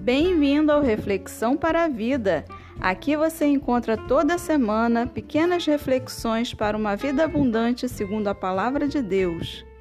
Bem-vindo ao Reflexão para a Vida. Aqui você encontra toda semana pequenas reflexões para uma vida abundante segundo a Palavra de Deus.